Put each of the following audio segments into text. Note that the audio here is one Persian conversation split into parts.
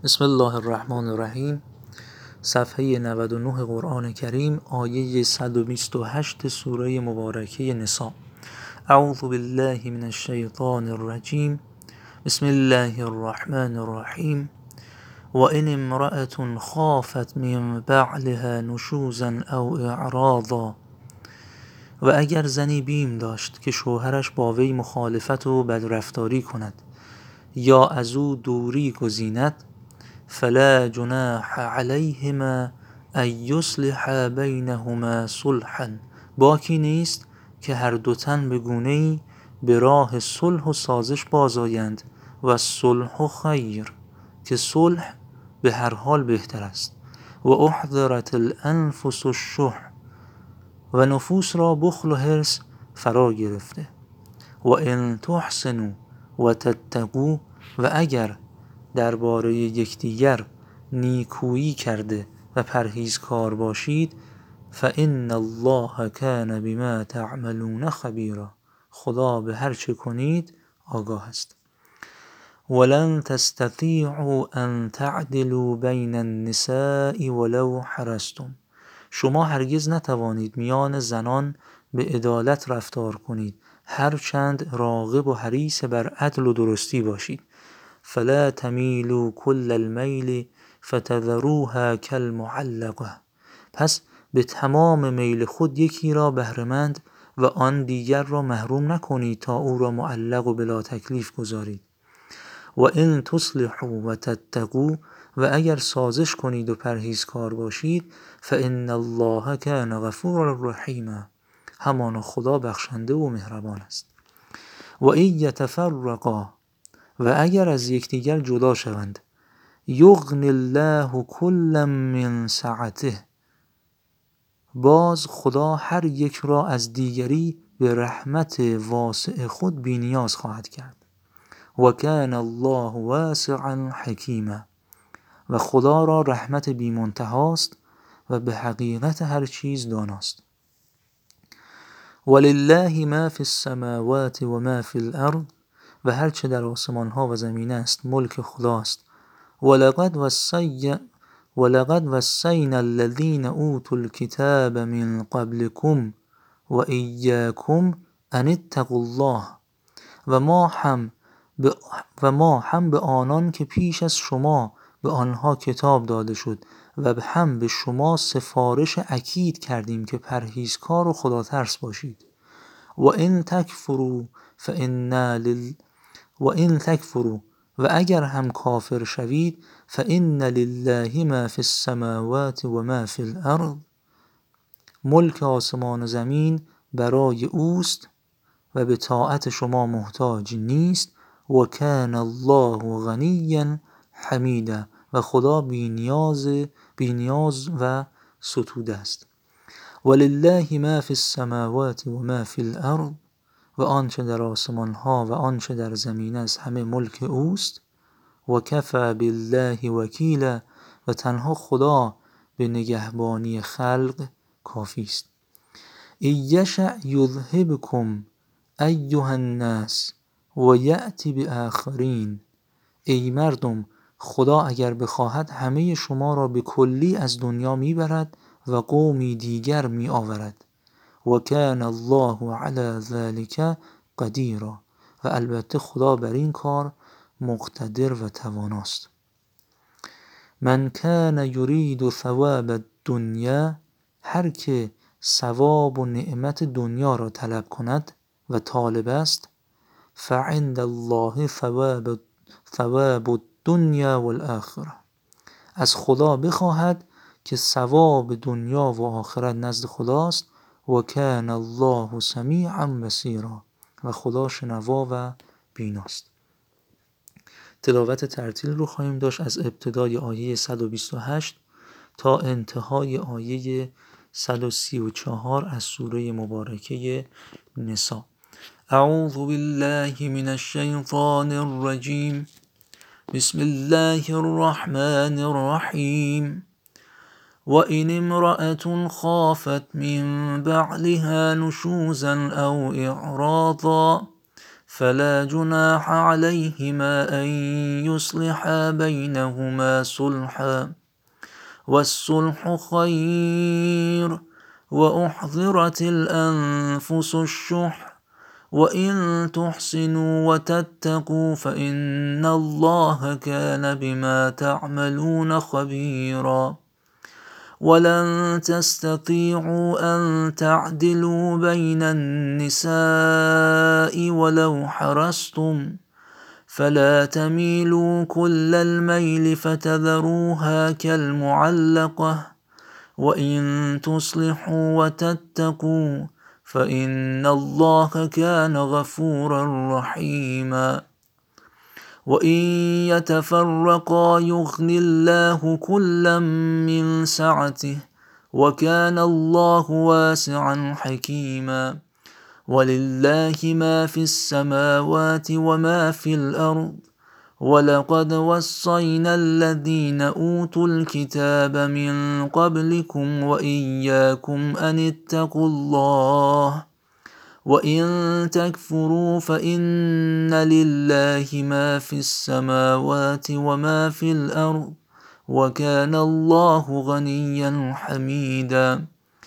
بسم الله الرحمن الرحیم. صفحه 99 قرآن کریم، آیه 128 سوره مبارکه نساء. اعوذ بالله من الشیطان الرجیم. بسم الله الرحمن الرحیم. و ان امرأة خافت من بعلها نشوزا او اعراضا، و اگر زنی بیم داشت که شوهرش با وی مخالفت و بدرفتاری کند یا از او دوری گزیند، فلا جناح علیهما ان یصلحا بینهما صلحا، باکی نیست که هر دو تن به گونه‌ای به راه صلح و سازش بازآیند، و الصلح خیر، که صلح به هر حال بهتر است. و احضرت الانفس الشح، و نفوس را بخل و حرص فرا گرفته. و ان تحسنوا و تتقوا، و اگر درباره یکدیگر نیکویی کرده و پرهیزکار باشید، فان الله کان بما تعملون خبیرا، خدا به هر چه کنید آگاه است. ولن تستطیعوا ان تعدلوا بین النساء ولو حرصتم، شما هرگز نتوانید میان زنان به عدالت رفتار کنید هرچند راغب و حریص بر عدل و درستی باشید. فلا تمیلوا کل المیل فتذروها کالمعلقه، پس به تمام میل خود یکی را بهره‌مند و آن دیگر را محروم نکنید تا او را معلق و بلا تکلیف گذارید. و ان تصلحوا و تتقوا، و اگر سازش کنید و پرهیزکار باشید، فان الله کان غفورا رحیما، همانا خدا بخشنده و مهربان است. و ان یتفرقا، و اگر از یکدیگر جدا شوند، یغنی الله کلا من سعته، باز خدا هر یک را از دیگری به رحمت واسع خود بی نیاز خواهد کرد. و کان الله واسعا حکیما، و خدا را رحمت بی منتهاست و به حقیقت هر چیز داناست. ولله ما فی السماوات و ما فی الارض، و هر چه در آسمان ها و زمین است ملک خداست. ولقد وصینا الذین اوتوا الکتاب من قبلکم و ایاکم ان اتقوا الله، و ما هم به آنان که پیش از شما به آنها کتاب داده شد و هم به شما سفارش اکید کردیم که پرهیزکار و خدا ترس باشید. و ان تکفروا، و اگر هم کافر شوید، فان لله ما فی السماوات و ما فی الارض، ملک آسمان و زمین برای اوست و به طاعت شما محتاج نیست. و کان الله غنیا حمیدا، و خدا بی‌نیاز و ستوده است. ولله ما فی السماوات و ما فی الارض، و آنچه در آسمان ها و آنچه در زمین است همه ملک اوست. و کفی بالله وکیلا، و تنها خدا به نگهبانی خلق کافی است. ان یشأ یذهبکم ایها الناس و یأتی بآخرین، ای مردم، خدا اگر بخواهد همه شما را به کلی از دنیا میبرد و قومی دیگر می آورد. و کان الله علی ذلک قدیرا، و البته خدا بر این کار مقتدر و تواناست. من کان یرید ثواب الدنیا، هر که ثواب و نعمت دنیا را طلب کند و طالب است، فعند الله ثواب الدنیا والآخرة، از خدا بخواهد که ثواب دنیا و آخرت نزد خداست. و کان الله سمیعا بصیرا، و خدا شنوا و بیناست. تلاوت ترتیل رو خواهیم داشت از ابتدای آیه 128 تا انتهای آیه 134 از سوره مبارکه نساء. اعوذ بالله من الشیطان الرجیم. بسم الله الرحمن الرحیم. و ان امرأة خافت من بعلها نشوزا او اعراضا، فلا جناح عليهما أن يصلحا بينهما صلحا والصلح خير وأحضرت الأنفس الشح وإن تحسنوا وتتقوا فإن الله كان بما تعملون خبيرا ولن تستطيعوا أن تعدلوا بين النساء ولو حرصتم فلا تميلوا كل الميل فتذروها كالمعلقة وإن تصلحوا وتتقوا فإن الله كان غفورا رحيما وإن يتفرقا يغن الله كلا من سعته وكان الله واسعا حكيما ولله ما في السماوات وما في الأرض ولقد وصينا الذين أوتوا الكتاب من قبلكم وإياكم أن اتقوا الله وإن تكفروا فإن لله ما في السماوات وما في الأرض وكان الله غنيا حميدا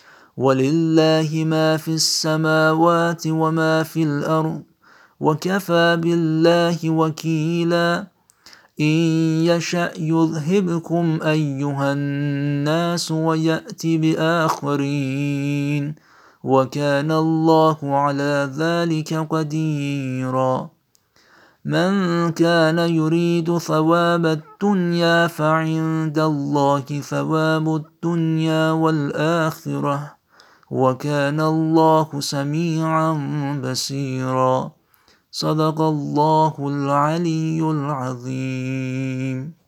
ولله ما في السماوات وما في الأرض وكفى بالله وكيلا إن يشأ يذهبكم أيها الناس ويأتي بآخرين وكان الله على ذلك قديرا من كان يريد ثواب الدنيا فعند الله ثواب الدنيا والآخرة وكان الله سميعا بصيرا صدق الله العلي العظيم.